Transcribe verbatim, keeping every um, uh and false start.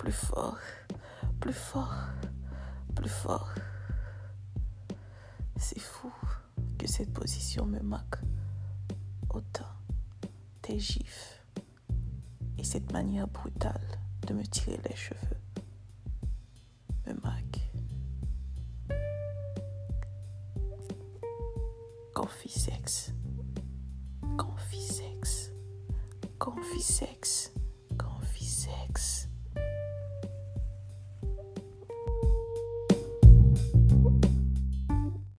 plus fort, plus fort, plus fort. C'est fou que cette position me marque autant. Tes gifs et cette manière brutale de me tirer les cheveux me marquent. Confisex, confisex, confisex.